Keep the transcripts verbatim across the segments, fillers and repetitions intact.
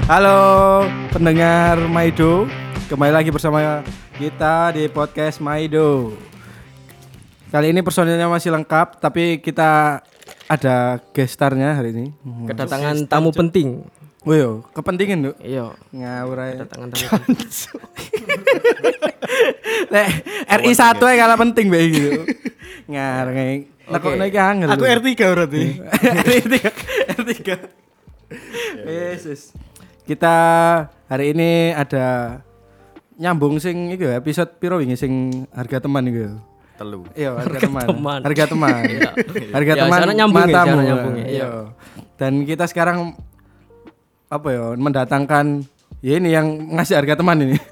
Halo pendengar Maido, kembali lagi bersama kita di podcast Maido. Kali ini personilnya masih lengkap, tapi kita ada guest star-nya hari ini. Kedatangan tamu penting. Oh iya, kepentingan tuh. Iya. Ngawur aja. Kedatangan tamu penting. Nek R I satu aja kalah penting bae gitu. Ngareng. Nekokno iki angel. Aku R tiga berarti. R tiga. R tiga. Yesus. Kita hari ini ada nyambung sing iku episode piro wingi sing harga teman iku. Telu. Iya, harga, Harga teman. teman. Harga teman. Harga Ya, teman sana nyambung ya, matamu. sana nyambung ya, Iya. Dan kita sekarang apa ya, mendatangkan ya ini yang ngasih harga teman ini.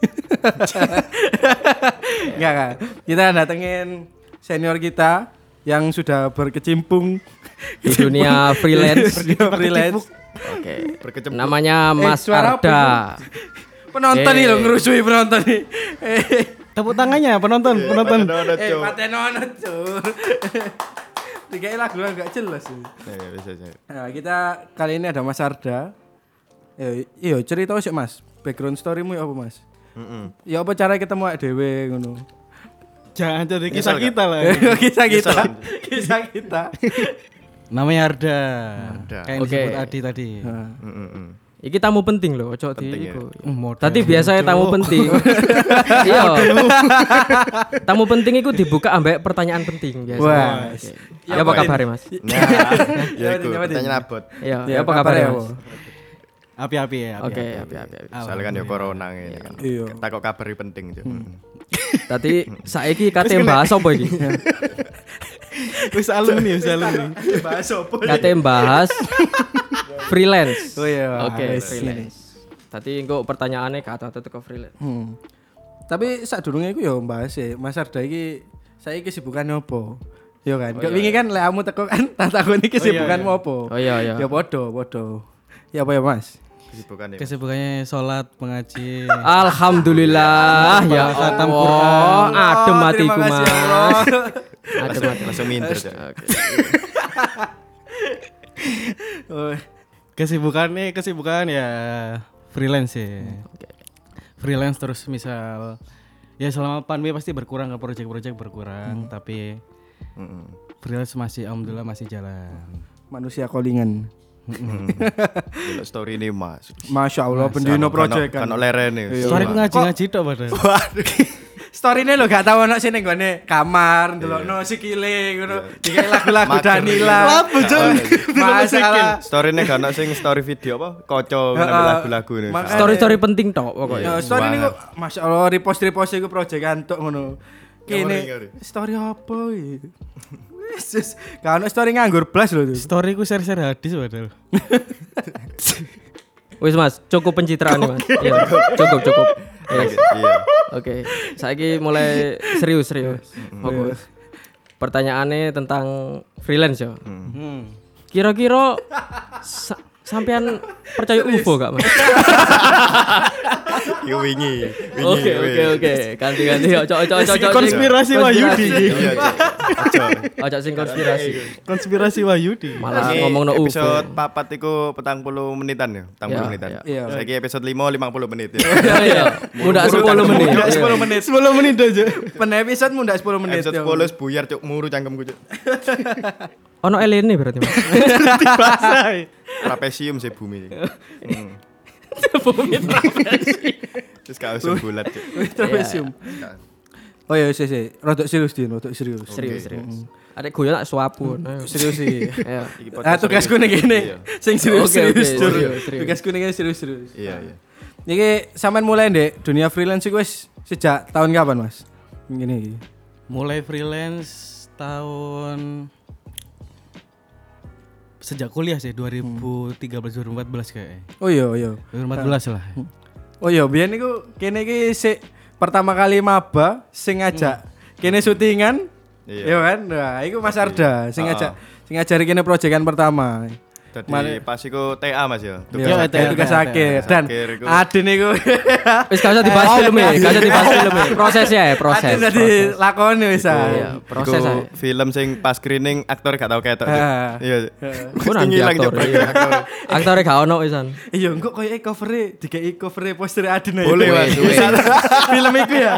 Enggak kan. Kita datengin senior kita yang sudah berkecimpung Di dunia freelance. Di dunia freelance. Oke. Berkecimpung. Namanya Mas Eh, suara Arda. Penonton nih Eh. lo ngerusui penonton nih. Eh, Tepuk tangannya penonton, penonton. eh patenono cur. Tiga lagu enggak jelas. Ya, bisa bisa. Nah, kita kali ini ada Mas Arda. Eh, iya, cerita sih Mas. Background story-mu ya apa Mas? Heeh. Ya apa cara ketemu awake dhewe ngono? Jangan jadi kisah Nyesel kita lah. Kisah kita. Nyesel. Kisah kita. Namanya Arda. Arda. Kayak yang Oke. disebut Adi tadi. Nah, Heeh. Iki tamu penting loh, ojo di Penting ya. iku. Hmm, model. Tadi biasanya tamu penting. Iya. Tamu penting itu dibuka ambek pertanyaan penting biasa. Wah. Oke. Ya apa kabar Mas? Nah, ya iku Nyawatin. pertanyaan abot. Iya, Ya, ya apa kabar kabar ya, Mas? Bo? Api-api ya. Oke, api-api. api-api. api. Soalnya kan ya corona ngene kan. Iya. Tak kok kabari penting Cuk. Tadi saiki kate bahas apa iki? Wis alumni, wis alumni. Bahas apa? Kate bahas freelance. Oh iya. Oke, wis. freelance. Tadi engko pertanyaannya kata-kata teko freelance. Hmm. Tapi sadurunge iku ya bahas ya, Mas Arda iki saiki kesibukannya apa? Yo kan. Kok wingi kan lek kamu teko kan tak takoni kesibukanmu apa? Oh iya iya. Ya podo, podo. Ya apa ya Mas? Kesibukan ya. Kesibukannya sholat, mengaji. Alhamdulillah ya Khatam Allah. Adem Oh, hatiku terima kasih, Mas. Allah. Adem hatiku. Langsung minder Cuk. Oke. Oh, Kesibukannya kesibukan ya freelance ya. Oke. Freelance terus misal ya selama pandemi pasti berkurang ke project-project berkurang, tapi Heeh. freelance masih alhamdulillah masih jalan. manusia callingan. Delok story ini Mas. Masya Allah, pendino project kan. Kan lerene. Iya. Story ku ngaji-ngaji tok padahal. Story-ne lho gak tau ono sing ning gone kamar, ndelokno sikile ngono. Dikai lagu-lagu Mager. Danila. Lapo, Jon? Masalah. Story-ne gak ono sing story video apa? Koco Heeh. ngambil lagu-lagu ini. Makanya- Story-story penting tok pokoknya. Ya, story niku Masya Allah repost-repost iku proyekan tok ngono. Kene Ngawur, ngawur. story apa iki? Yesus, gak ono story nganggur blas lho. Story ku share-share hadis padahal. Wis Mas, cukup pencitraan nih Mas. Iya, cukup cukup. Yes. Iya. Oke, saiki mulai serius serius. Oke. Pertanyaannya tentang freelance ya. Hmm. Kira-kira sa- sampean percaya U F O gak Mas? Yo wingi. wingi, Oke oke wingi. oke, ganti-ganti. Ojo ojo ojo ojo. Konspirasi Wahyudi. Iya, Cuk. Aja. Ojo sing konspirasi. Konspirasi Wahyudi. Malah Ini ngomongno U F O. episode papat iku petang puluh menitan ya, petang puluh Ya, menitan. ya. Iya. Saiki episode lima lima puluh menit ya. Iya iya. Mudah sepuluh menit. Mundak Iya. sepuluh menit. sepuluh menit aja. Pen episode mundak sepuluh menit. Episode yo. sepuluh buyar cuk muru cangkemku cuk. Ono elene berarti Mas. Trapesium sih bumi. Hmm. Bumi trapesi. Terus gak usah bulat cuk. Trapesium. Oh ya sih sih, rodok serius din, rodok serius. Serius serius. Ada guyon tak suapun. Ayo. Serius sih. Ayo. Iki Ah podcast tugasku serius. nih gini, Iya. sing serius Oke, oke, serius. Jur. serius, serius. Tugasku nih gini serius serius. Iya iya. Iki sampean mulai ndek dunia freelance iku wis sejak tahun kapan Mas? Gini. Mulai freelance tahun sejak kuliah sih dua ribu tiga belas dua ribu empat belas kayaknya. Oh iya iya. dua ribu empat belas lah. Oh iya, biyen niku kene iki sik pertama kali maba sing ngajak kene syutingan. Iya. Iya kan? Nah, iku Mas Arda sing Ah, ngajak sing ngajari kene proyekan pertama. Jadi Mari- pas iku T A Mas ya. Iya, T A, tugas T A, akhir. tugas Dan akhir iku. Adin iku Wis gak usah dibahas filmnya, gak usah dibahas filmnya. Prosesnya ya, proses. Adin tadi proses. lakoni wis ah. Iya, proses Iku aja. film sing pas screening aktor gak tau ketok. Cuk. Ah. Iya. Ku nanti Ngilang, aktor. Cuk, Iya. aktor. Aktornya gak ono wisan. Iya, engko koyo cover-e dikei cover-e poster Adin aja. Boleh, Mas. Wes, wes. Film iku ya.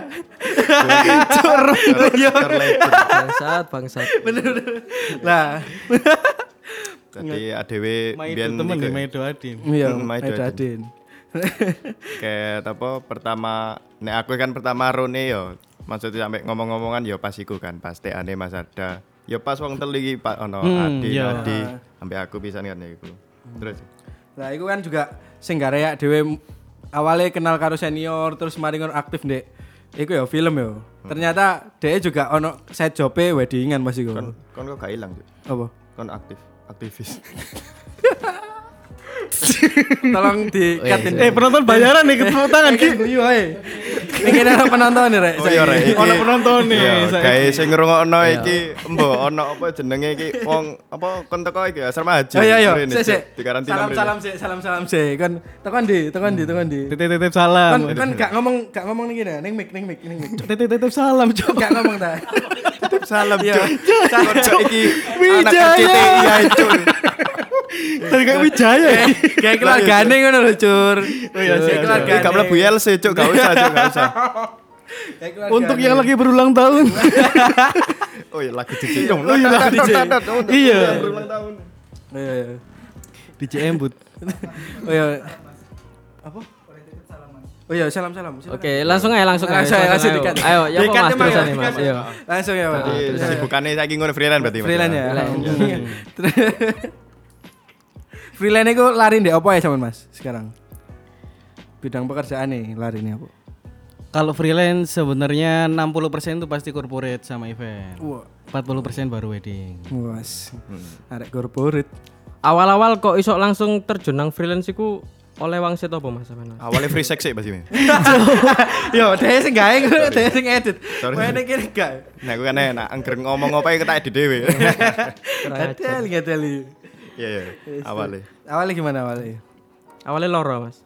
Aktor legend. Bangsat, bangsat. Lah, Jadi A D W Maido biyen temen iku- nih Maido Adin. iya, Hmm, Maido Maido Adin. Adin. kayak apa pertama nek aku kan pertama rone yo maksudnya sampai ngomong-ngomongan yo pas iku kan pas T A ne Mas Ada yo pas wong telu iki Pak ono Hmm, Adi iya. Adi sampai aku pisan kan iku terus Lah iku kan juga sing gare dhewe awalnya kenal karo senior terus mari ngono aktif ndek iku ya film ya. Ternyata dia juga ono side job-e weddingan Mas iku. kon kon kok gak ilang Cuk. Apa? Kon aktif aktivis Tolong di cut ini. Eh penonton bayaran nih ketemu tangan Iki guyu ae. Iki ana penonton nih rek. oh iya rek iki Ono penonton nih, iya, saiki. gawe sing ngrungokno iki embo ono apa jenenge iki wong apa kon teko iki asrama haji Oh iya iya. Mrene, Sik Cuk. sik. di karantina Salam mrene. salam sik, salam salam sik. Kan tekan di, tekan di, tekan di. Titip-titip salam. Kan kan gak ngomong gak ngomong nih gini, ning mic ning mic ning mic. Titip-titip salam coba. Gak ngomong ta. Titip salam Iya. Cuk. Kon kok iki anak Wijaya. R C T I ae Cuk. Tadi kayak Wijaya ya. Kayak keluargane ngono lho, Cur. Oh iya, siap, siap. Iki gak mlebu L C Cuk gak usah Cuk gak usah Kayak keluargane. Untuk yang lagi berulang tahun. Oh iya lagu D J. Oh iya, lagu D J. Iya. Berulang tahun. Iya iya. D J Embut. Oh iya. Apa? Oh iya, salam-salam. Silakan. Oke, langsung aja, langsung aja. Langsung aja, langsung ayo. dikat. Ayo, ya apa Dikat Mas emang terusan ya, nih Mas? dikat. Iya. Langsung ya, Pak. Jadi kesibukannya saiki ngono freelance berarti Mas. Freelance ya. Freelance. Freelance itu lari ndek apa ya sampean Mas sekarang? Bidang pekerjaan nih lari nih apa? Kalau freelance sebenarnya enam puluh persen itu pasti corporate sama event. Wah, empat puluh persen baru wedding. was. Arek corporate. Awal-awal kok iso langsung terjun nang freelance iku oleh wangsit apa Mas sampean? Awalnya free sex sih Mas ini. Yo, dhewe sing gawe, dhewe sing edit. Sorry. Wene kene gak. Nah aku kan enak angger ngomong apa ya kita edit dhewe. Kurang ajar. Adel ngadeli. Iya iya awalnya. Awalnya gimana awalnya? Awalnya loro Mas.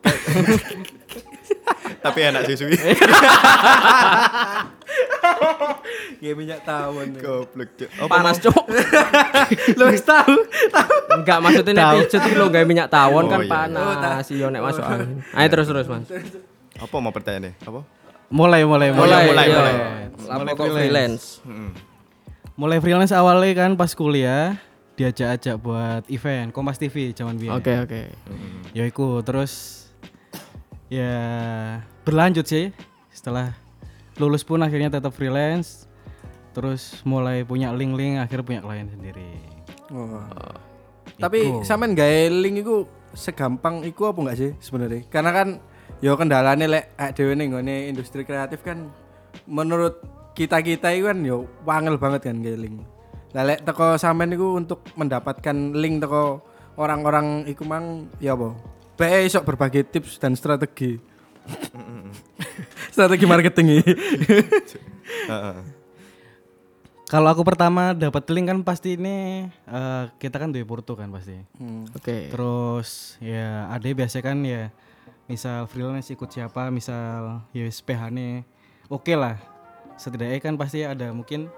Tapi enak sih suwi. Nggih minyak tawon. Goblok Cuk. Apa Panas cuk. Lu wis tahu, tahu. Enggak maksudnya nek pijet iki lho gawe minyak tawon Oh, kan iya. panas. Iya nek masuk angin. Ayo terus terus Mas. apa mau pertanyaannya? Apa? Mulai mulai Mulai mulai, iya. mulai. Lapo kok freelance. Heeh. Mulai freelance awalnya kan pas kuliah diajak-ajak buat event Kompas T V zaman biyen. Oke oke. Ya iku terus ya berlanjut sih setelah lulus pun akhirnya tetap freelance terus mulai punya link-link akhirnya punya klien sendiri. Wah. Tapi sampean gawe link iku segampang iku apa enggak sih sebenarnya? Karena kan yo kendalane lek awake dhewe ning nggone industri kreatif kan menurut kita-kita itu kan yo wangel banget kan gawe link. Lah lek teko sampean iku untuk mendapatkan link teko orang-orang iku mang ya apa? Bae iso berbagi tips dan strategi. Strategi marketing iki. Heeh. Kalau aku pertama dapat link kan pasti ini eh, kita kan duwe porto kan pasti. Oke. Terus ya ada biasa kan ya misal freelance ikut siapa misal ya wis P H-ne oke lah. Setidaknya kan pasti ada mungkin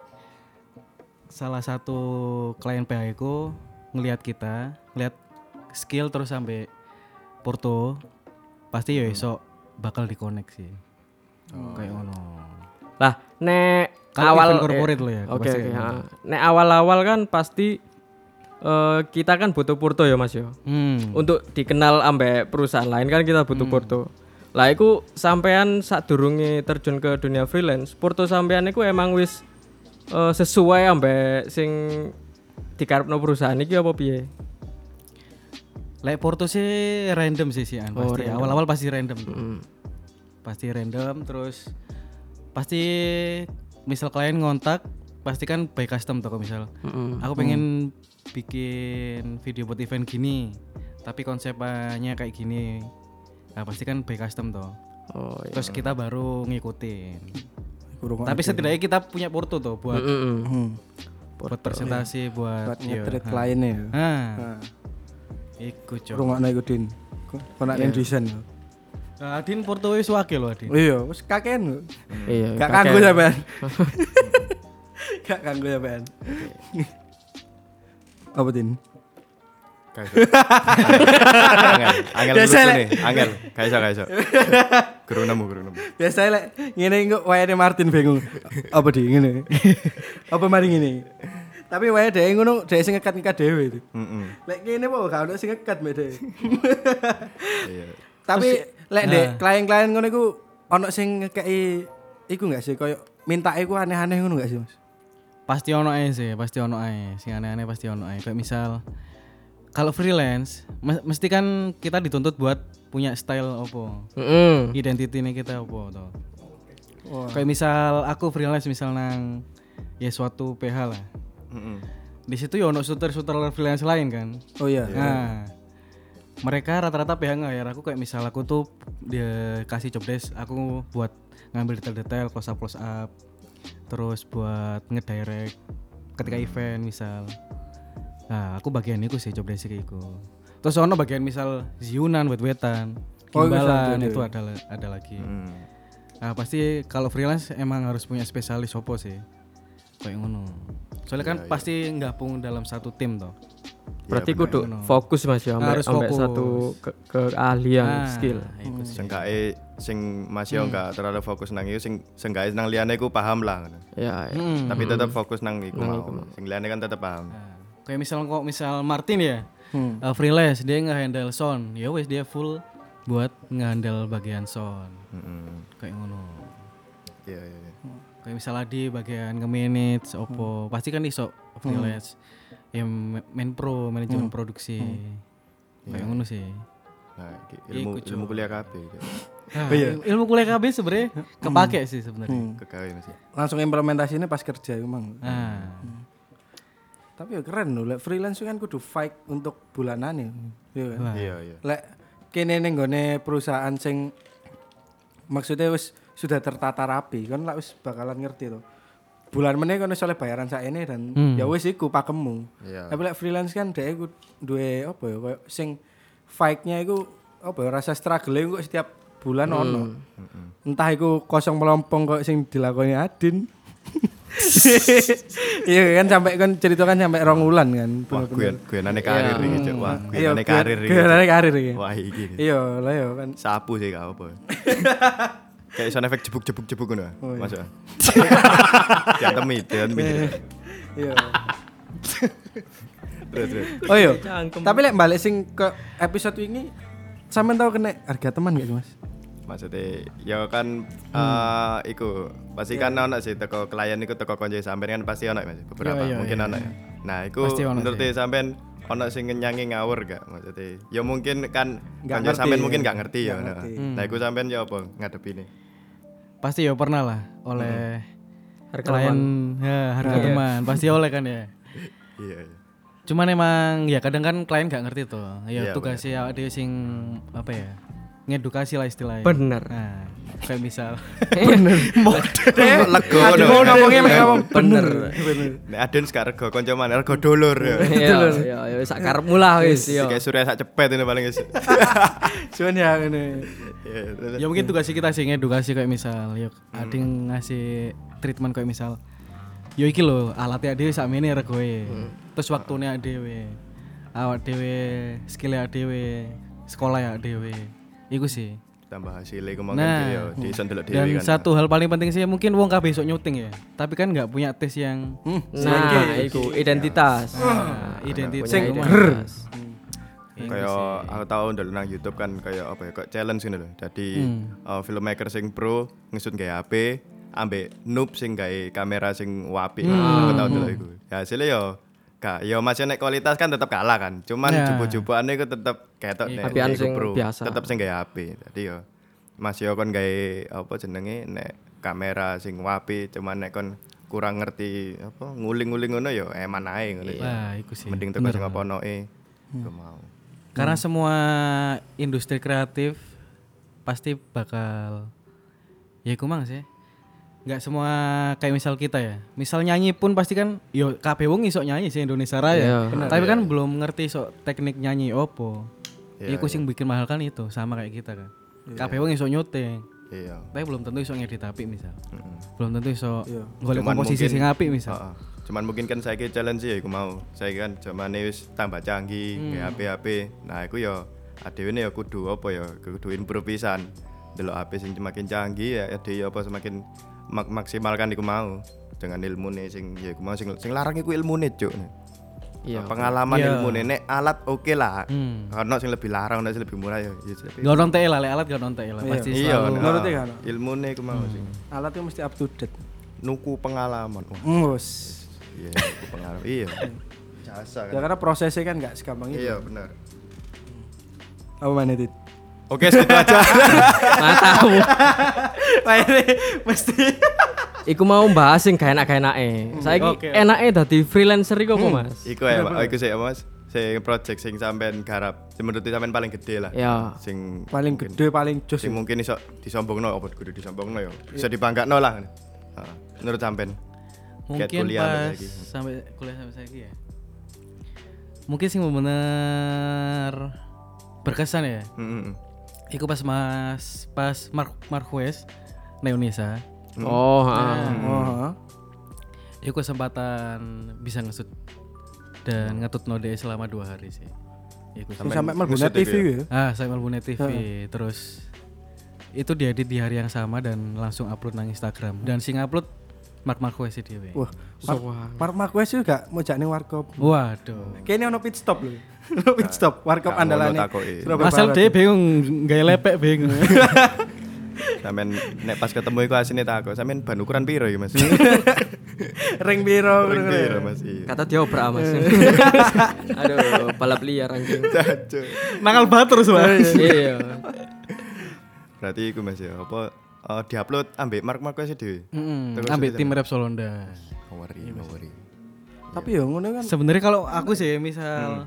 salah satu klien P H ku ngelihat kita, ngelihat skill terus sampai porto pasti ya esok bakal dikoneksi. Kayak ngono. Lah nek Kalau awal event corporate lo ya, Oke pasti oke. kayak ha. Nek awal-awal kan pasti eh, kita kan butuh porto ya Mas yo. Hmm. Untuk dikenal ambek perusahaan lain kan kita butuh porto. Lah iku sampean sadurunge terjun ke dunia freelance, porto sampean iku emang wis eh, sesuai ambek sing dikarepno perusahaan iki apa piye? Lek porto sih random sih sih an Oh, pasti. random. Awal-awal pasti random. tuh. Mm. Pasti random terus pasti misal klien ngontak pasti kan by custom tuh misal. Mm-mm. Aku pengen bikin video buat event gini tapi konsepnya kayak gini. Nah, pasti kan by custom tuh. Oh iya. Terus kita baru ngikutin. Kurang Tapi setidaknya kita punya porto tuh buat Mm-mm. Hmm. buat presentasi buat Buat iya, nge-treat ha. kliennya. Nah, Nah. Iku cok. Rungokno iku Din. Kok nak ning desain. Nah, Adin Porto wis wake lho Adin. Iya, wis kakean lho. Iya. Gak kakek. kanggo sampean. Gak kanggo sampean. Apa Din? Kayak angel, angel Biasa, lucu Lek. nih, angel. Gak iso, gak iso. Guru nemu, guru nemu. Biasa lek ngene kok wayane Martin bingung. Apa di ngene? Apa mari ngene? Tapi wae dhek ngono, dhek sing ngekat-ngekat dhewe itu. Heeh. Lek ngene apa gak ono sing ngekat mbek dhek. Iya. Tapi lek ndek klien-klien ngono iku ono sing ngekeki iku gak sih koyo minta iku aneh-aneh ngono gak sih, Mas? Pasti ono ae sih, pasti ono ae. Sing aneh-aneh pasti ono ae. Kayak misal kalau freelance mes- mesti kan kita dituntut buat punya style opo. Heeh. Identitinya kita opo to. Wah. Kayak misal aku freelance misal nang ya suatu P H lah. Heeh. Di situ ya ono shooter-shooter freelance lain kan. Oh iya. Nah, mereka rata-rata P H nge-hire aku kayak misal aku tuh dia kasih job desk, aku buat ngambil detail-detail close up close up. Terus buat ngedirect ketika event misal. Nah, aku bagian itu sih job desk iku. Terus ono bagian misal ziunan wet-wetan, Oh, gimbalan itu itu ada. ada ada lagi. Hmm. Nah, pasti kalau freelance emang harus punya spesialis opo sih. Kayak ngono. Soalnya kan pasti gabung dalam satu tim toh. Berarti bener. kudu fokus Mas ya ambek Harus ambek fokus. satu ke, keahlian Nah, skill. iku sih. Sengkae sing masih enggak terlalu fokus nang iku sing sengkae nang liyane iku paham lah ngono. Ya, ya. Hmm. Tapi tetap fokus nang iku mau. Sing liyane kan tetap paham. Nah, kayak misal kok misal Martin ya, Hmm. uh, freelance dia nge-handle sound, ya wes dia full buat nge-handle bagian sound. Heeh. Kayak ngono. Iya, iya, iya. Kayak misal Adi bagian nge-manage opo, pasti kan iso freelance. Ya ma- main pro, manajemen produksi. Kayak ngono sih. Nah, iki ilmu Iku, ilmu kuliah kabeh iki. Nah, il- ilmu kuliah K B sebenarnya kepake sih sebenarnya. Kegawe masih. Langsung implementasinya pas kerja emang. Nah, Tapi ya keren lho, lek freelance kan kudu fight untuk bulanan ya. Iya kan? Lah. Iya, iya. Lek kene ning gone perusahaan sing maksudnya wis sudah tertata rapi kan lah wis bakalan ngerti to. Bulan meneh kono oleh bayaran sakene dan Hmm. ya wis iku pakemmu. Iya. Tapi lek freelance kan dhek iku duwe apa ya koyo sing fight-nya iku apa ya rasa struggle kok setiap bulan ono. Entah iku kosong melompong kok sing dilakoni Adin. Iya kan sampai kan cerita kan sampai rong wulan kan. Wah, gue guenane karir iki, Cuk. Wah, Iya, guenane karir iki. Guenane karir iki. Wah, iki. Iya, lah ya kan. Sapu sih gak apa. Kayak sound effect jebuk-jebuk-jebuk ngono. Oh, iya. Masuk. Diantemi, diantemi. Iya. Terus, terus. Oh iya. Cangkem. Tapi lek balik sing ke episode ini sampean tahu kena harga teman gak sih, Mas? Maksudnya ya kan eh iku pasti kan ono sih teko klien iku teko konco sampean kan pasti ono Mas beberapa Iya, iya, mungkin iya, ono ya. Nah, iku Pasti ono menurut sih. sampean ono sing ngenyangi ngawur gak maksudnya ya mungkin kan Nggak konco ngerti, sampean ya. mungkin gak ngerti ya. Nggak Nah, ngerti. nah iku sampean ya apa ngadepine? pasti ya pernah lah oleh Harga klien ya, harga teman. Pasti oleh kan ya. Iya, iya. Cuman emang ya kadang kan klien gak ngerti tuh. Ya Iya, tugasnya awake dhewe sing apa ya? Ngedukasi lah istilahnya. Bener. Nah, kayak misal Lego Aduh, ngono. ngomongnya mek ngomong Bener. Nek Aden sak rego kanca mana rego dolur ya. Iya, iya, ya sak karepmu lah wis yo. Kayak surya sak cepet ini paling guys. Cuman ya ngene. Iya, terus. ya mungkin tugas kita sih ngedukasi kayak misal ya ada yang ngasih treatment kayak misal yo iki lho alatnya dhewe sakmene regoe. Terus waktunya dhewe. Awak dhewe skillnya dhewe, sekolah ya dhewe. Iku sih. Tambah hasilnya iku mongko Nah, yo diiso ndelok dan dhewe kan. satu hal paling penting sih mungkin wong kabeh besok nyuting ya. Tapi kan nggak punya tes yang Nah, iku identitas. nah, identitas. Punya Rumah. identitas. Kayak aku tahu ndelok nang YouTube kan kayak apa ya kayak challenge gitu loh. Jadi uh, filmmaker sing pro ngesut gawe H P ambek noob sing gawe kamera sing wapi. Aku tahu dulu iku. Ya hasilnya yo gak yo masih nek kualitas kan tetap kalah kan. Cuman Ya. jupuk-jupukane iku tetep ketok nek Apian iku sing pro. biasa. Tetep sing gawe H P. Jadi yo masih yo kon gawe apa jenenge nek kamera sing wapi cuman nek kon kurang ngerti apa nguling-nguling ngono yo eman ae ngono. Nah, iku sih. Mending teko sing oponoke. Gak mau. Karena semua industri kreatif pasti bakal ya iku mang sih. nggak semua kayak misal kita ya. Misal nyanyi pun pasti kan yo kabeh wong iso nyanyi sih Indonesia Raya. Iya. Tapi kan belum ngerti sok teknik nyanyi opo. Iya, Iku sing bikin mahal kan itu sama kayak kita kan. Kabeh wong iso nyuting. Iya. Tapi belum tentu iso ngedit apik misal. Mm-mm. Belum tentu iso Iya. golek Cuman komposisi mungkin- sing apik misal. Heeh. Cuman mungkin kan saiki challenge ya iku mau. Saya kan zamane wis tambah canggih, Hmm. kayak H P-H P. Nah, iku ya adewe ya kudu apa ya, kudu improve pisan. Delok H P sing semakin canggih ya adewe apa semakin mak- maksimalkan iku mau dengan ilmune sing ya iku mau sing sing larang iku ilmune, Cuk. Iya. Pengalaman Iya. ilmune nek alat oke lah. Hmm. Ono sing lebih larang, ono sing lebih murah ya. ya tapi- Gak nonton lah, lek alat gak nonton lah. Pasti Iya, selalu. nah, Menurutnya kan? ilmune iku mau sing Alat itu mesti up to date. nuku pengalaman. Wah, Mus. iya, nuku pengalaman. Iya. Jasa Ya kan. karena prosesnya kan nggak segampang itu. Iya, benar. Apa mana Dit? Oke, segitu aja. Matamu. Wah ini mesti. Iku mau bahas sing gak enak-gak enake. Saiki Oke. enake dadi freelancer iku apa, Mas? Iku ya, Pak. Iku sih, Mas. Sing project sing sampean garap, sing menurut sampean paling gede lah. Ya. Sing Paling mungkin- gede, paling jos. Sing mungkin iso disombongno apa kudu disombongno ya. Bisa dibanggakno lah. Heeh. Menurut sampean. Kayak Mungkin kuliah pas lagi. sampai kuliah sampai saiki ya. Mungkin sing bener berkesan ya. Heeh. Iku pas Mas pas Mark Marquez Neonisa. Oh, heeh. Oh, Iku kesempatan bisa ngesut dan ngetut node selama dua hari sih. Iku Sing sampai sampai mlebu ngusut T V iku ya? ya. ah saya Malbune T V terus itu diedit di hari yang sama dan langsung upload nang Instagram dan sing upload Mark Marquez sih dhewe. Wah, Mark, Mark Marquez juga mau jak ning warkop. Waduh. Kayaknya ono pit stop lho. Ono pit stop warkop Gak ngono andalane. takoki. Surabaya Asal Barat. dia bingung gaya lepek bingung. Sampean nek pas ketemu iku asine takok, sampean ban ukuran piro iki, Mas? Ring biro. Ring piro, Mas? Iya. Kata dia obrak, Mas. Aduh, balap liar anjing. Jancuk. Nangal banget terus Mas. Iya. Berarti iku Mas ya, apa eh, diupload ambek Mark Marquez dhewe. Heeh. Terus Ambil itu tim rap Solonda. No worry, no worry. Tapi ya ngono kan. Sebenarnya kalau aku sih misal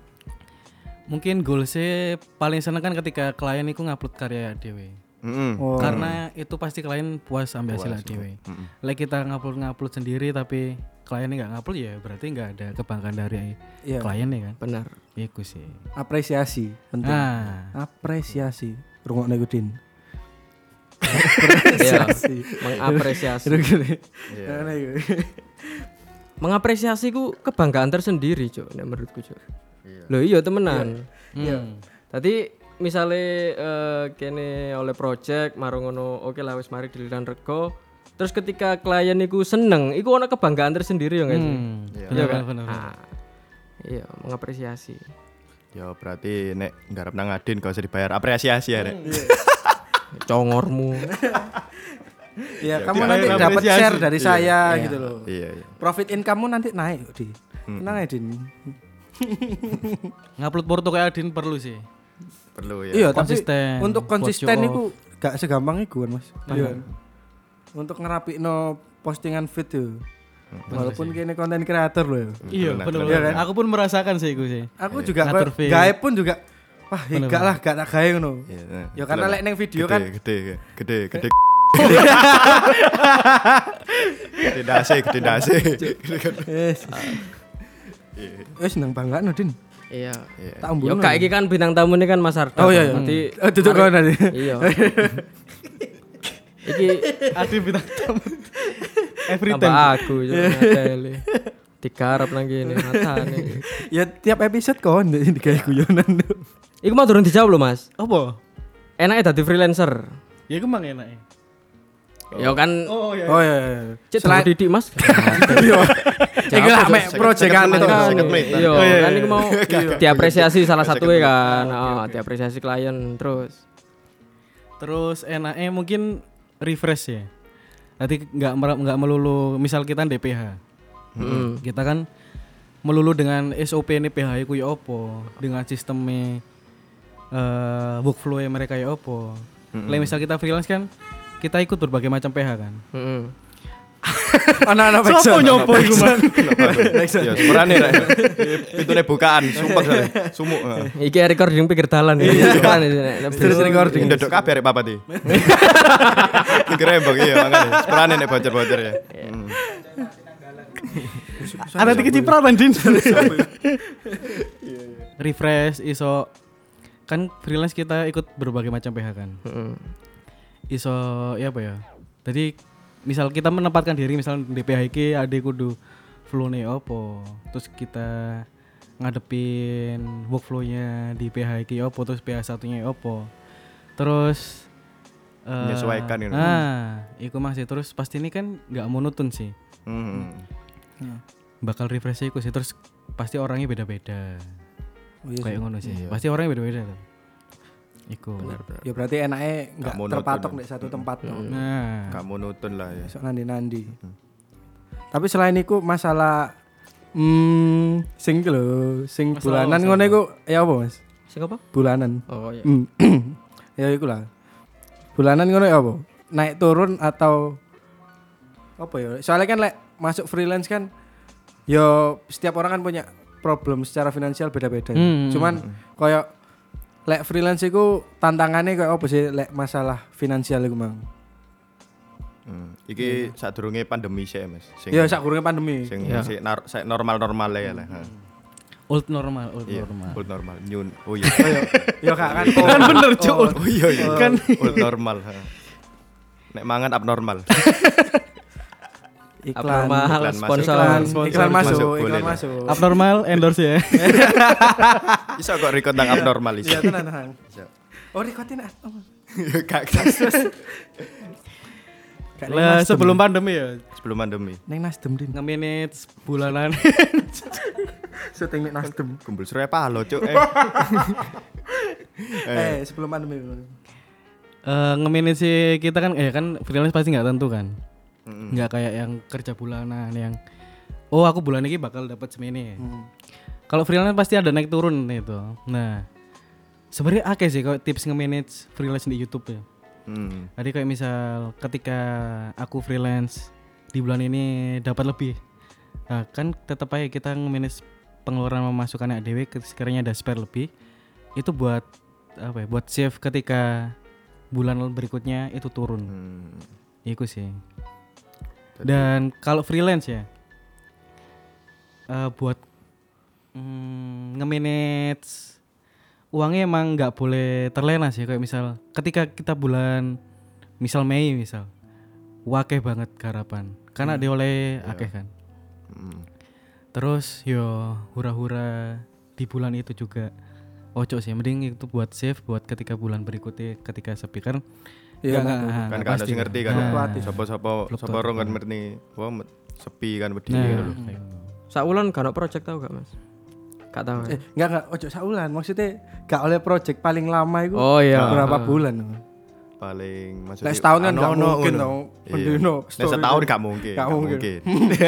mungkin goalsnya paling seneng kan ketika klien itu ngupload karya dewe. Heeh. Oh. Karena itu pasti klien puas ambil hasil dewe. Like kita ngupload ngupload sendiri tapi kliennya nggak ngupload ya berarti nggak ada kebanggaan dari Iya. kliennya kan. Benar. Iku sih. Apresiasi penting. Nah, Apresiasi. Rungokne iku Din. Iya. Mengapresiasi. Iya. Ngono iku. Mengapresiasi ku kebanggaan tersendiri, Cuk, nek menurutku, Cuk. Loh iya temenan. iya. Tadi misalnya eh, kene oleh project marung ngono oke lah wis mari diliran rego. Terus ketika klien iku seneng, iku ono kebanggaan tersendiri ya enggak sih? Hmm. Iya. Iya Benar kan? benar. Ah, iya, mengapresiasi. Ya berarti nek nggarap nang Adin gak usah dibayar apresiasi ya, Rek. Congormu. Ya, Ya, kamu kita nanti bayar dapat apresiasi. share dari saya gitu loh. Iya, iya. Profit income-mu nanti naik kok, Di. Tenang ya, Din. Ngupload porto kayak Adin perlu sih. Perlu ya. Iya, tapi Konsisten, untuk buat konsisten show itu gak segampang itu kan, Mas. Iya. kan? Untuk ngerapikno postingan feed tuh. Walaupun kini konten kreator loh ya. Iya, Benar, benar. benar. benar. Aku pun merasakan sih iku sih. Aku juga Ngatur kok feed. gawe pun juga wah, enggak lah gak tak gawe ngono. Iya, nah. Ya karena Betul, lek neng video gede, kan gede gede gede gede dase gede dase. wis. Wis nang bangga no, Din. Iya. Tak Yo umbuno. kayak iki kan bintang tamu ini kan Mas Arda. Oh iya iya. Nanti Oh, duduk kono nanti. iya. Iki Adin bintang tamu. Every tambah time. aku yo ngateli. Digarap nang kene matane. Ya tiap episode kon digawe guyonan tuh. Iku mau durung dijawab lho, Mas. Apa? Enaknya dadi freelancer. Ya kemang enak. Ya kan Oh iya. Oh iya iya. cek Selain didik, Mas. iya. Iki lah mek project kan. menit, tuh. second menit. Iya, Oh, iya, kan iya. iku mau diapresiasi salah satu kan. Oh, diapresiasi klien terus. Terus enaknya mungkin refresh ya. Nanti nggak mer- nggak melulu misal kita D P H. Heeh. Kita kan melulu dengan S O P ini P H ku ya opo, dengan sistemnya eh workflow mereka ya opo. Lah misal kita freelance kan kita ikut berbagai macam P H kan. Heeh. Anak-anak backsound. Sopo nyopo iku, Mas? Ya sepurane rek. Pitune bukaan, sumpah soalnya. Sumuk. Iki recording pikir dalan. Kan nek Terus recording. Ndodok kabeh arek papat iki. Grembok iya makane. Sepurane nek bocor-bocor ya. Hmm. Ada tiga cipratan Din. Refresh iso kan freelance kita ikut berbagai macam P H kan. Heeh. Iso ya apa ya? Jadi misal kita menempatkan diri misal di P H iki ade kudu flow-ne opo. Terus kita ngadepin workflow-nya di P H iki opo, terus P H satunya opo. Terus eh, Menyesuaikan gitu. Ah, iku masih terus pasti ini kan enggak monoton sih. Hmm. Bakal refresh iku sih terus pasti orangnya beda-beda. Oh, iya Kayak sih. ngono sih. Pasti orangnya beda-beda tuh. Iku. Ya berarti enaknya enggak monoton terpatok ya. di satu tempat tuh. Nah, Gak monoton lah ya. Besok nandi-nandi. Tapi selain itu masalah hmm sing iki lho, sing Masalah bulanan apa, ngono iku ya apa, Mas? Sing apa? Bulanan. Oh iya. Hmm. Ya iku lah. Bulanan ngono ya apa? Naik turun atau apa ya? Soalnya kan lek masuk freelance kan yo setiap orang kan punya problem secara finansial beda-beda. Hmm. Cuman koyo lek freelance iku tantangannya kayak apa sih lek masalah finansial iku, Mang? Hmm. Iki sadurunge pandemi sih Mas. Sing Ya sak kurunge pandemi. sing Ya. sik nar- sik normal-normal ya lah. Ha. old normal, old Iya, normal. old normal. New. Oh iya. Ya kak kan. Kan bener, Cuk. Oh iya iya. Kan old normal. Ha. Nek mangan abnormal. Iklan. Abnormal iklan masuk. sponsor. Iklan, Sponsor iklan masuk, masuk, iklan boleh lah. masuk. Abnormal endorse ya. Iso kok record tentang abnormal iki. Iya tenan tenan. Iso. Oh rekodin ah. Gak Lah sebelum pandemi ya sebelum pandemi. Neng Nasdem din. nge-manage bulanan. Syuting ning Nasdem. Kumpul Surya Paloh, Cuk. Eh. Eh sebelum pandemi. Eh nge-manage sih kita kan eh kan freelance pasti enggak tentu kan. Mm-mm. Enggak kayak yang kerja bulanan yang oh aku bulan ini bakal dapat semene. Hmm. Kalau freelance pasti ada naik turun itu. Nah, sebenarnya akeh sih kalau tips nge-manage freelance di YouTube ya. Hmm. Tadi kayak misal ketika aku freelance di bulan ini dapat lebih. Nah, kan tetap aja kita nge-manage pengeluaran pemasukan A D W sekiranya ada spare lebih. Itu buat apa ya? Buat save ketika bulan berikutnya itu turun. Hmm. Iku sih. Dan kalau freelance ya uh, buat mm, nge-manage uangnya emang nggak boleh terlena sih. Kayak misal ketika kita bulan misal Mei misal wakeh banget garapan karena dia oleh akeh kan. Hmm. Terus yo hura-hura di bulan itu juga ojo sih, mending itu buat save buat ketika bulan berikutnya ketika sepi kan. Iya, nggak- nah, nggak- Kan nggak kan pasti sing ngerti kan. Nah, Fluktuatif. Sopo-sopo Fluktuatif. sopo rong kan ngerti. Wah met- sepi kan wedi Nah, gitu loh. Sak wulan gak ono project tau gak, Mas? Gak tau. Eh enggak enggak ojo saulan. Maksudnya gak oleh project paling lama itu Oh iya. berapa bulan? Paling maksudnya Lek setahun kan ano- nggak ano mungkin ngono. dong. Iya. Pendino, Lek story setahun itu. gak mungkin. Gak Gak mungkin. mungkin.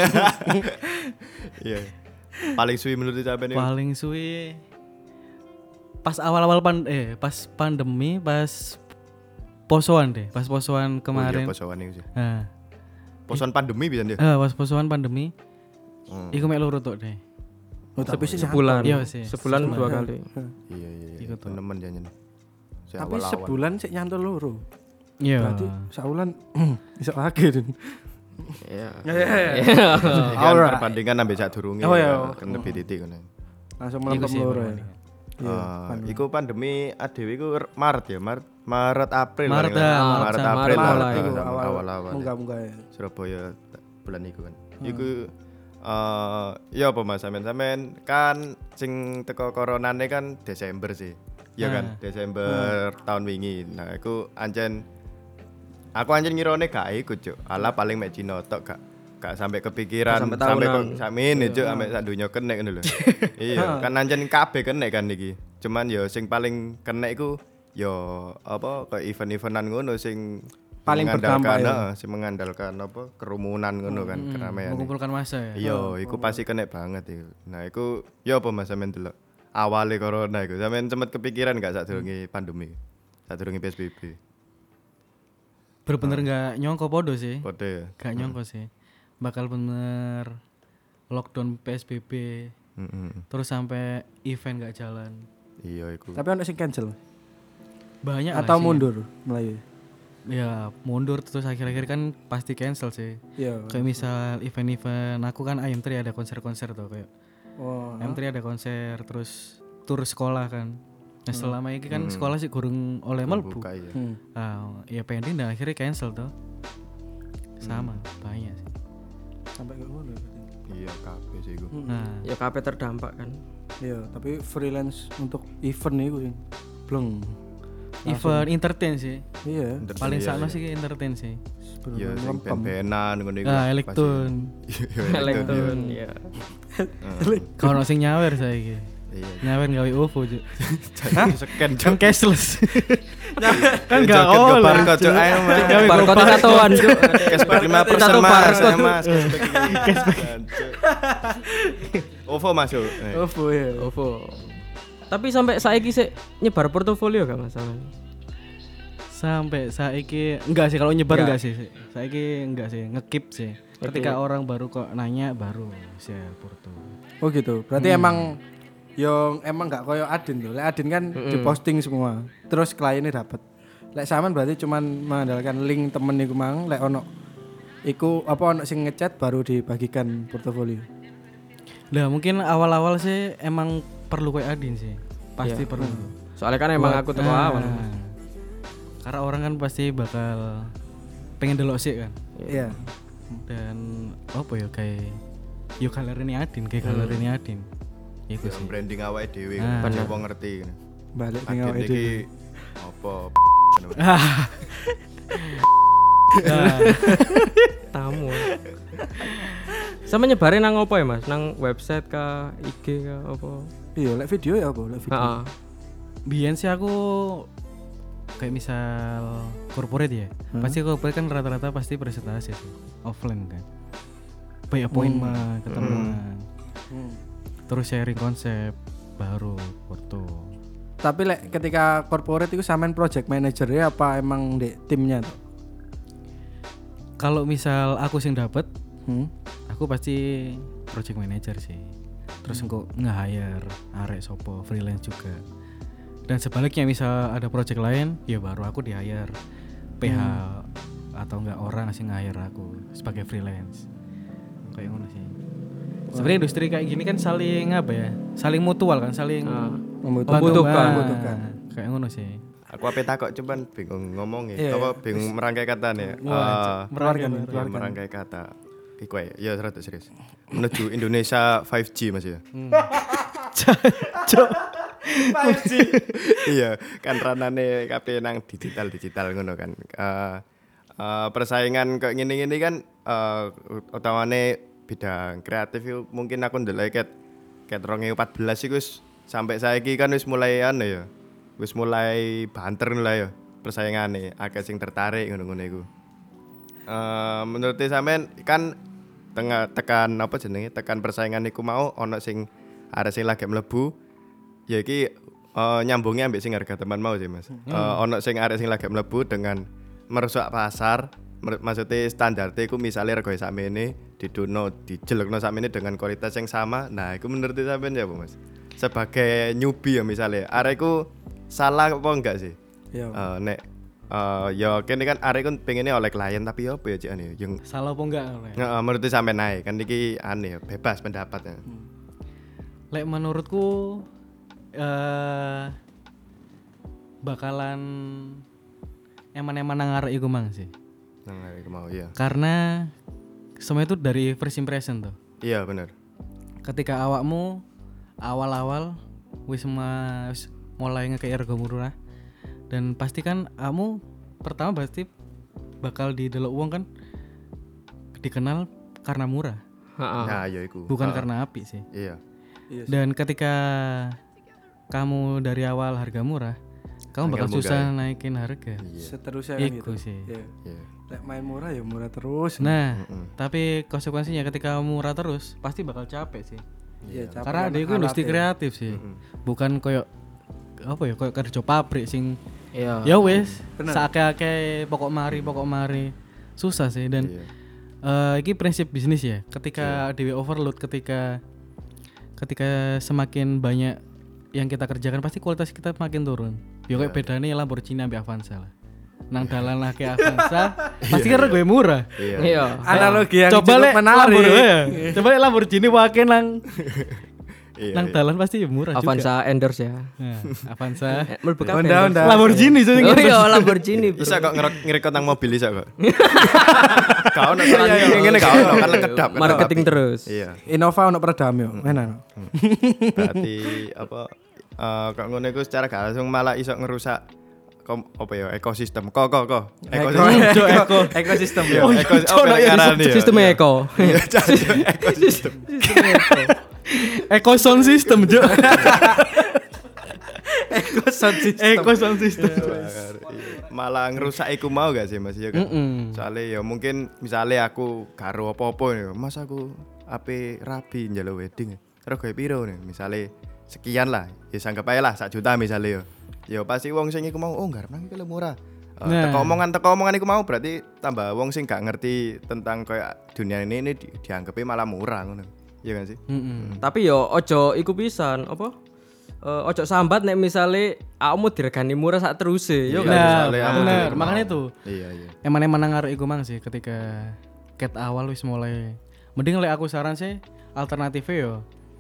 Iya. Paling suwi menurut sampean itu. paling suwe pas awal-awal pan eh pas pandemi pas posoan deh pas posoan Kemarin. kemarin. Oh, iya, posoan itu sih. Nah, Posoan pandemi bisa dia. eh, pas posoan pandemi Hmm. iku mek loro tok deh. Oh, tapi sih Sebulan. Iya sih. Sebulan dua Sebulan. kali. Iya iya iya. Iku tuh. Temen jangan. Tapi sebulan sik nyantol loro. Iya. Berarti saulan iso akeh din. Iya. Ya ya ya. kan Alright. perbandingan sampai saat durunge. Oh, iya. Kan lebih titik kan. Langsung Iku melempem sih loro ya. perbandingan. Iya. Ah, pandemi. iku pandemi A D W iku r- Maret ya, Maret Maret April Maret paling lah. dah, Maret Maret April Maret lah, mulai. ah, Iku sama awal awal-awal. munggah-munggah ya. Surabaya t- bulan iku kan. Iku eh ya apa Mas sampean sampean kan sing teko coronane kan Desember sih. Iya kan, Desember tahun wingi. Nah, iku ancen aku ancen ngirone gak iku, Cuk. Ala paling mek Cina tok gak gak sampai kepikiran Gak sampai sampai kok tahunan. sakmene Cuk, sampai sak donya kenek ngono lho. Iya, kan ancen kabeh kenek kan iki. Cuman ya sing paling kenek iku ya apa kayak event-eventan ngono sing Paling mengandalkan, berdampak ya. heeh, sing mengandalkan apa kerumunan ngono kan, keramaian. Mengumpulkan massa ya. Iya, iku pasti kena banget iku. Nah, iku ya apa Mas sampean delok? Awale corona iku sampean sempat kepikiran gak sadurunge pandemi? Sadurunge P S B B. Bener-bener enggak nyongko podo sih. Padha ya. Gak nyongko sih. bakal bener lockdown P S B B. Mm-mm. Terus sampai event gak jalan. Iya iku. Tapi ono sing cancel Banyak lah atau sih. mundur mulai. Ya mundur terus akhir-akhir kan pasti cancel sih. Iya. Kayak misal event-event aku kan I M tiga ada konser-konser tuh kayak Oh. I M tiga ada konser terus tur sekolah kan. Nah selama ini kan sekolah sih kurang oleh melbu. Buka ya. Hmm. Ah, ya pending dan akhirnya cancel tuh. Sama banyak sih. Sampai ke ngono. ya, berarti. Iya kabeh sih iku. Nah, Ya K P terdampak kan. Iya, tapi freelance untuk event iku sing bleng. event entertain sih. Iya. Paling Iya, sakno iya. sih entertain sih. Iya, Bener-bener sing lempem. ben-benan ngono iku. Ah, Elektron. Iya, Elektron ya. Kalau ono sing nyawer saiki. Iya. Nyawer gawe O V O, Juk. Jangan scan Kan cashless. kan enggak oleh. Barcode cok ayo Mas. Barcode satuan Cuk. Cashback lima persen Satu Mas, barcode. saya Mas. Cashback. O V O masuk. Eh. OVO ya. OVO. Tapi sampai saiki sih nyebar portofolio gak masalah. Sampai saiki enggak sih kalau nyebar Enggak. enggak, sih. Saiki enggak sih, ngekip sih. Ketika orang baru kok nanya baru share porto. Oh gitu. Berarti emang yang emang nggak koyo Adin tuh. Lek Adin kan diposting semua. Terus kliennya dapat. Lek Saman berarti cuman mengandalkan link temen iku mang. Lek ono iku apa ono sing ngechat baru dibagikan portofolio. Nah mungkin awal-awal sih emang perlu kayak Adin sih. Pasti perlu. Soalnya kan emang aku teko Nah, awal. Karena orang kan pasti bakal pengen delok sih kan. Iya. Dan apa ya kayak yo galeri Adin, kayak galeri Adin. Iku Yang sih. branding awake dhewe Ah. kan coba ngerti. Balik ning Adin awake iki dhewe. apa? Tamu. Sama nyebarin nang apa ya Mas? Nang website kah, I G kah apa? Iya, lek video ya apa? Lek video. Heeh. Biyen sih aku kayak misal corporate ya. Pasti corporate kan rata-rata pasti presentasi sih. Offline kan. Banyak appointment, ketemuan. Hmm. Terus sharing konsep baru foto. Tapi lek ketika corporate itu samain project manager ya apa emang di timnya tuh? Kalau misal aku sing dapet, Hmm. aku pasti project manager sih. Terus engko nge-hire arek sopo freelance juga. Dan sebaliknya misal ada project lain, ya baru aku di-hire P H atau enggak orang sing nge-hire aku sebagai freelance. Kayak ngono sih. Sebenarnya industri kayak gini kan saling apa ya? Saling mutual kan, saling Membutuhkan. Membutuhkan. Membutuhkan. Kayak ngono sih. Aku ape takok cuman bingung ngomong Iya, ya. Apa bingung merangkai kata nih. Keluarkan, Ya, keluarkan. merangkai kata. Iku ya, ya serata serius. Menuju Indonesia lima G Mas ya. lima G. Iya, kan ranane kabeh nang digital-digital ngono kan. Eh eh, persaingan kayak ngene-ngene kan eh utamane bidang kreatif itu mungkin aku ndelok ket ket dua ribu empat belas iku wis sampai saiki kan wis mulai anu ya. Wis mulai banter lah ya persaingane, akeh sing tertarik ngono-ngono iku. Eh menurut sampean kan tengah tekan apa jenenge tekan persaingan iku mau ono sing arek sing lagi mlebu ya iki uh, nyambungnya ambek sing harga teman mau sih Mas. Uh, ono sing arek sing lagi mlebu dengan merusak pasar, mer- maksudnya standar iku misalnya rego sakmene didono dijelekno sakmene dengan kualitas yang sama. Nah, iku menurut sampean ya apa Mas? Sebagai newbie ya misalnya, arekku salah apa enggak sih? Iya. Uh, nek uh, ya kene kan arek kan pengennya oleh klien tapi ya apa ya cik ane yang Salah apa enggak oleh? Heeh, menurut sampe naik kan iki aneh ya, bebas pendapatnya. Lek menurutku eh bakalan eman-eman nang arek iku mang sih. Nang arek mau iya. Karena semua itu dari first impression tuh. Iya bener. Ketika awakmu awal-awal wis ma- wis mulai ngekei harga murah dan pasti kan kamu pertama pasti bakal didelok uang kan dikenal karena murah, Heeh. Nah, iya iku. bukan Heeh. karena api sih. Iya. Iya. Dan ketika kamu dari awal harga murah, kamu bakal Angel susah munggah naikin harga. Iya. Seterusnya kan Iku gitu. sih. Iya. Iya. Lek main murah ya murah terus. Nah, tapi konsekuensinya ketika kamu murah terus pasti bakal capek sih. Iya, capek Karena sama ada itu industri alatnya. kreatif sih. Bukan koyo apa ya koyo kerja pabrik sing Iya. ya wes sakake-ake pokok mari pokok mari susah sih dan Iya. Eh iki prinsip bisnis ya. Ketika dhewe overload, ketika ketika semakin banyak yang kita kerjakan pasti kualitas kita makin turun. Ya kayak bedane Lamborghini ambek Avanza lah. Nang dalan lah kayak Avanza pasti kan gue murah. Iya. Iya. Analogi yang Coba cukup lek menarik. Lamborghini, coba lek Lamborghini wae nang Iya, nang iya. dalan pasti ya murah juga. Avanza endorse ya. Nah, Avanza. Eh, Mlebu kabeh Honda, endorse. Honda. Lamborghini sing Oh iya Lamborghini. Bro. Bisa kok ngerek- ngerekod nang mobil bisa kok. Kau nak ngene kau kan kedap. kan Marketing rapi. terus. Iya. Innova untuk peredam yo. Enak. Berarti apa eh kok ngono iku secara gak langsung malah iso ngerusak kom, apa ya ekosistem. Kok kok kok. Eko, eko, ekosistem Iya, yo. eko apa nek ngarani ya? Sistem eko. Iya, ekosistem. Eco sound system, Jo. Eko sound system. Eco sound system. Iya. Malah ngerusak iku mau gak sih Mas ya kan? Mm-mm. Soalnya ya mungkin misalnya aku karo apa-apa nih, Mas aku ape rabi njaluk wedding. Terus gawe piro nih? Misalnya sekian lah, ya anggap ae lah sak juta misalnya yo. Ya pasti wong sing iku mau oh ngarep nang iki lho murah. Uh, Nah. teko omongan teko omongan iku mau berarti tambah wong sing gak ngerti tentang kayak dunia ini ini di, dianggapnya malah murah ngono. Iya kan sih? Mm-mm. Tapi yo ojo iku pisan apa? Eh, ojo sambat nek misale awakmu diregani murah sak teruse yo Iya, kan. Nah, misalnya aku bener, dulu makanya mau. itu. Iya iya. Emang-emang nang arek iku mang sih ketika ket awal wis mulai. Mending lek aku saran sih alternatifnya yo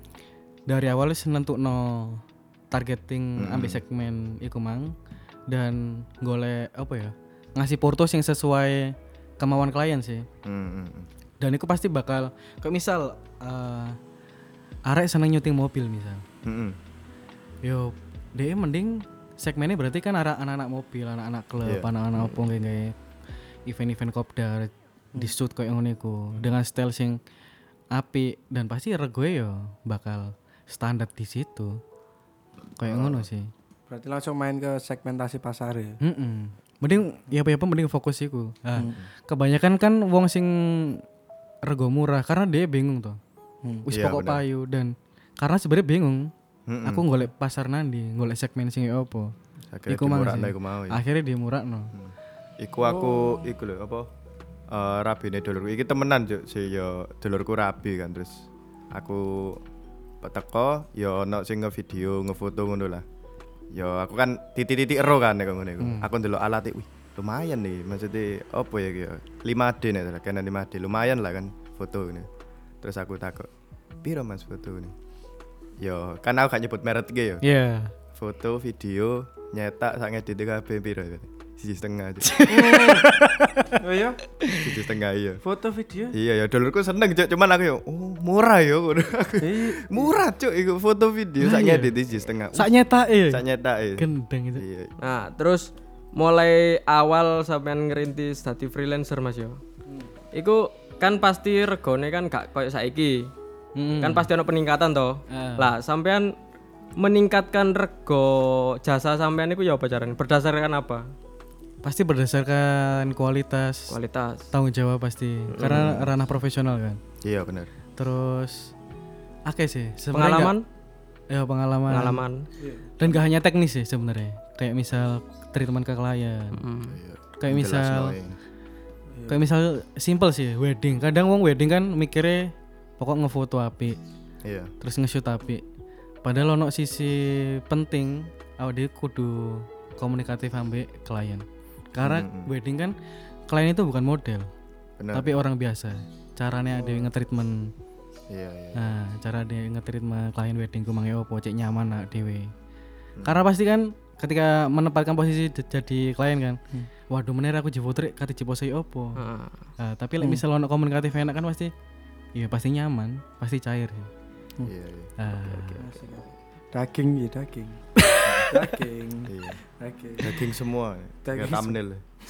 dari awal wis nentukno targeting Hmm. ambil segmen iku mang dan golek apa ya? Ngasih porto yang sesuai kemauan klien sih. Hmm, hmm, hmm. Dan itu pasti bakal kayak misal eh arek seneng nyuting mobil misal. Hmm, hmm. Yo, dia mending segmennya berarti kan arah anak-anak mobil, anak-anak klub, Iya. anak-anak opo kayak event-event kopdar di shoot kayak ngono iku dengan style sing apik dan pasti regoe yo bakal standar di situ. Kayak ngono sih. Berarti langsung main ke segmentasi pasar ya. Heeh. Mending ya apa-apa mending fokus iku. Nah, kebanyakan kan wong sing rego murah karena dia bingung tuh. Hmm. Wis Iya, pokok bener. payu dan karena sebenarnya bingung. Mm-mm. Aku golek pasar nandi, golek segmen sing opo. Akhirnya Iku mang dimurakno sih. iku mau ya. Akhirnya dimurakno. Iku aku iku lho apa eh rabine dulurku iki temenan Cuk si yo dulurku rabi kan terus aku teko yo ono sing ngevideo ngefoto ngono lah. Yo aku kan titik-titik ero kan nek ngono iku. Aku ndelok alat wih lumayan nih maksudnya apa ya ki lima D nek salah Canon lima D lumayan lah kan foto ini. Terus aku takut piro Mas foto ini? Yo kan aku gak nyebut merek iki yo. Iya. Foto, video, nyetak sak ngedit kabeh piro? Siji setengah aja. Oh iya, Siji setengah iya. foto video. Iya ya dulurku seneng Cuk, cuman aku yo oh murah yo ngono. Iya. Murah Cuk iku foto video sak ngedit siji setengah. Sak nyetake. Sak nyetake. Gendeng itu. Iya. Nah, terus mulai awal sampean ngerintis dadi freelancer Mas yo. Iku kan pasti regone kan gak koyo saiki. Mm-mm. Kan pasti ono peningkatan toh. Ah. Lah, sampean meningkatkan rego jasa sampean iku ya apa caranya? Berdasarkan apa? Pasti berdasarkan kualitas, Kualitas. tanggung jawab pasti. Karena ranah profesional kan. Iya bener. Terus oke sih, sebenarnya Pengalaman? nggak- ya pengalaman. Pengalaman. Dan gak hanya teknis sih sebenarnya. Kayak misal treatment ke klien. Hmm. Kayak misal Jelas, no, kayak misal simple sih wedding. Kadang wong wedding kan mikirnya pokok ngefoto apik, iya. terus nge-shoot apik. Padahal ono sisi penting awake kudu komunikatif ambek klien. Karena Mm-mm. wedding kan klien itu bukan model, Bener. tapi orang biasa. Caranya ada yang nge-treatment. Iya iya. Nah, cara dia nge-treatment klien wedding ku mangke opo, cek nyaman nak dhewe. Karena pasti kan ketika menempatkan posisi d- jadi klien kan. Waduh meneh aku jifoto rek kate jiposei opo. Ah. Nah, tapi lek misal ono komunikatif enak kan pasti iya pasti nyaman, pasti cair sih. Iya iya. Ah, Daging ya daging. Daging. Iya. Daging. Daging semua. Daging Kayak thumbnail.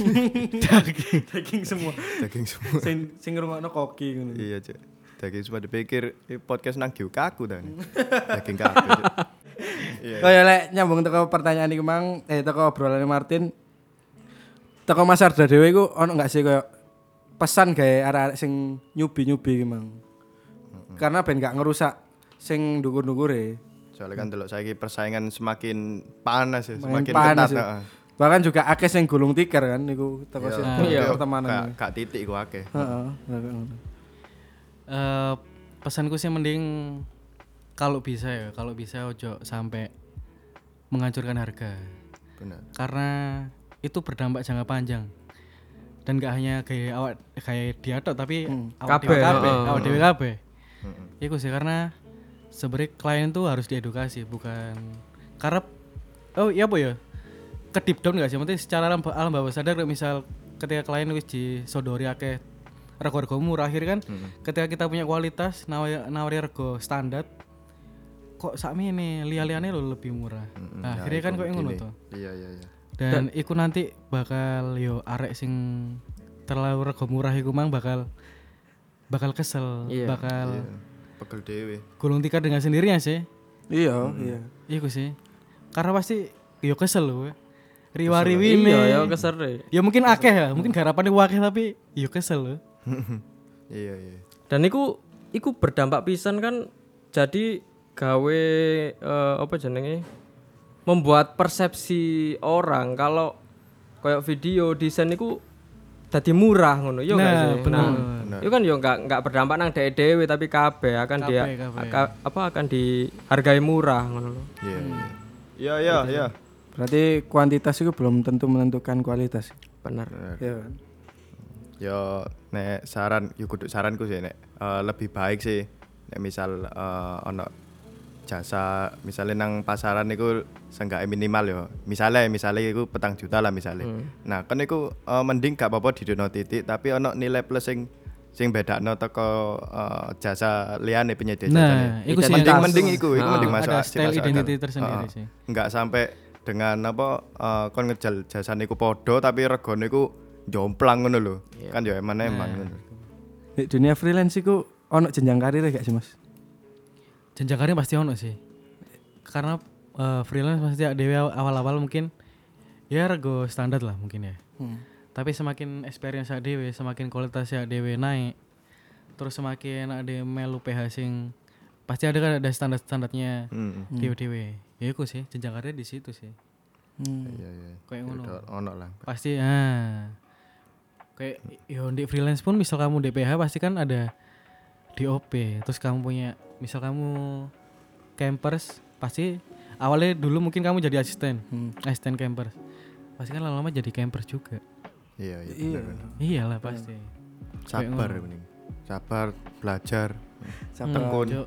Daging semua. Daging semua. Sing sing ngrungokno koki ngono. Iya Cuk. Daging semua dipikir eh, podcast nang giu kaku ta. Daging kaku. Cuk. Iya. Oh ya lek nyambung teko pertanyaan iki mang eh teko obrolan Martin. Teko Mas Arda dhewe iku ono enggak sih koyo pesan gawe arek-arek sing nyubi-nyubi iki mang. Karena ben gak ngerusak sing ndukur-ndukure. Soalnya kan delok saiki persaingan semakin panas ya, Semakin semakin panas ketat. ya. heeh. Bahkan juga akeh sing gulung tikar kan niku teko Iya. situ Iya. pertemanan. Gak gak titik ku akeh. Heeh. Eh, pesanku sih mending kalau bisa ya, kalau bisa ojo sampai menghancurkan harga. Benar. Karena itu berdampak jangka panjang. Dan gak hanya kayak awak kayak dia tok tapi awak Kabeh, dhewe kabeh, heeh. awak dhewe kabeh. Heeh. Iku sih karena sebenarnya klien tuh harus diedukasi bukan karena oh iya apa ya ke deep down gak sih maksudnya secara alam, alam bawah sadar kayak misal ketika klien wis disodori akeh rego-rego murah akhir kan ketika kita punya kualitas nawari, nawari rego standar kok sakmene liya-liyane lo lebih murah. Mm-mm. Nah, Ya, akhirnya kan iku kok ngono gini. tuh. Iya iya iya. Dan iku nanti bakal yo arek sing terlalu rego murah iku mang bakal bakal kesel, Iya. bakal Iya. Pegel dhewe. gulung tikar dengan sendirinya sih. Iya, iya. Iku sih. Karena pasti yo kesel lho. Riwa-riwine. Iya ya kesere. Ya mungkin akeh ya, mungkin garapane akeh tapi yo kesel lho. Iya iya. Dan iku iku berdampak pisan kan jadi gawe eh, apa jenenge membuat persepsi orang kalau kayak video desain iku dadi murah ngono yo Nah, gak sih. bener. Nah, itu kan yo enggak enggak berdampak nang dhewe tapi kabeh akan dia Kabeh, kabeh. aka- apa akan dihargai murah ngono lho. Iya iya. Iya iya iya. Berarti kuantitas itu belum tentu menentukan kualitas. Bener. Iya kan? Yo nek saran yo kudu saranku sih nek eh, lebih baik sih nek misal eh, ono jasa misalnya nang pasaran niku seenggaknya minimal yo misalnya misalnya iku petang juta lah misalnya nah kan iku eh, mending gak apa-apa didono titik tapi ono nilai plus sing sing bedakno teko eh, jasa liyane penyedia Nah, jasane iku sih mending yang- mending iku iku Ah, mending masuk ada sih style masuk identity akal. tersendiri Heeh. sih. Enggak sampai dengan apa eh, kon ngejal jasane iku podo tapi regane iku jomplang ngono lho kan yo emane emang ngono. Di dunia freelance itu ono jenjang karir gak sih Mas? Jenjang karir pasti ono sih. Karena eh, freelance pasti dewe awal-awal mungkin ya rego standar lah mungkin ya. Tapi semakin experience dewe, semakin kualitasnya dewe naik. Terus semakin ada melu P H sing pasti ada kan ada standar-standarnya Hmm. dewe-dewe. Ya iku sih jenjang karir di situ sih. Iya iya. Kayak ngono. Udah ono lah. Pasti ah. Kayak yo di freelance pun misal kamu D P H pasti kan ada D O P. Terus kamu punya misal kamu campers pasti awalnya dulu mungkin kamu jadi asisten. Asisten campers. Pasti kan lama-lama jadi campers juga. Iya iya. Iya. bener, bener. Iyalah pasti. Sabar mending. Sabar belajar. Sabar. Tekun. Cuk,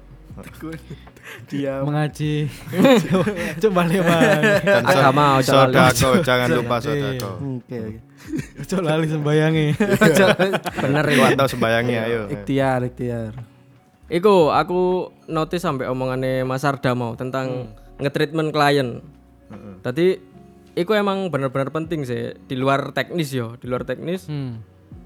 Dia mengaji. Coba balik balik. Dan so- Agama, ojo lali. sodako jangan lupa sodako. Oke oke. Coba lali sembayangi. Bener Lu ya. atau sembayangnya ayo. Ikhtiar, ikhtiar. Iku aku notice sampai omongannya Mas Arda mau tentang nge-treatment klien. Tadi iku emang benar-benar penting sih di luar teknis yo, di luar teknis. Hmm.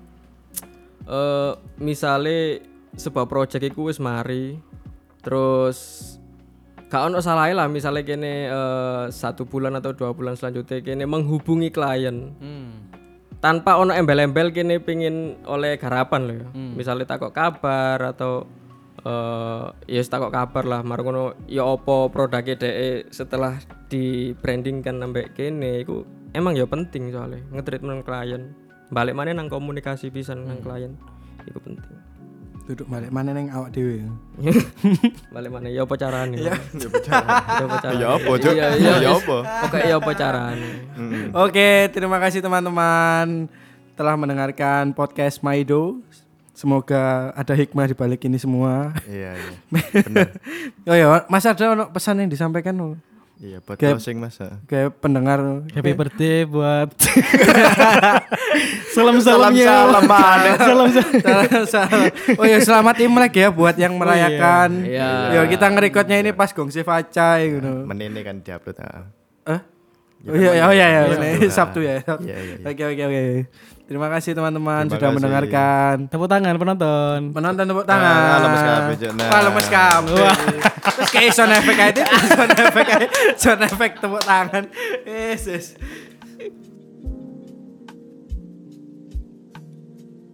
Eh misale sebuah project iku wis mari terus gak ono salahe lah misalnya kene eh, satu bulan atau dua bulan selanjutnya kene menghubungi klien Hmm. tanpa ono embel-embel kene pingin oleh garapan loh ya. Misalnya takok kabar atau eh ya wis takok kabar lah margono ya opo produknya dhek setelah di branding kan nambah kene iku emang ya penting soalnya nge-treatment klien balik mana nang komunikasi pisan nang klien iku penting. Duduk balik mana neng awak dewe. Balik mana ya apa carane? Iya. Ya apa carane? Ya apa, Cuk? Iya, iya. Ya apa? Oke, ya apa carane? Oke, terima kasih teman-teman telah mendengarkan podcast Maido. Semoga ada hikmah di balik ini semua. Iya iya. Benar. Oh ya, Mas ada ono pesan yang disampaikan no? Iya buat Kayak- closing Mas. ha. Kayak pendengar. Happy birthday buat salam-salamnya. Salam-salaman. Salam Salam- salam. Oh ya, selamat Imlek ya buat yang merayakan. Iya. Ya kita ngerekodnya ini pas gongsi Facai gitu. Menini kan diupload. ha. Eh? Oh iya, iya, oh iya, iya, Sabtu, ini ha. Sabtu ya. Sabtu. Iya, iya, iya. Oke, oke, oke. Terima kasih teman-teman Terima sudah kasih. mendengarkan. Tepuk tangan penonton. Penonton tepuk Ah, tangan. lemes kabeh, Cuk. Nah. Wah, lemes kabeh. Terus kayak sound effect aja, sound effect aja, sound effect tepuk tangan. Yes, yes.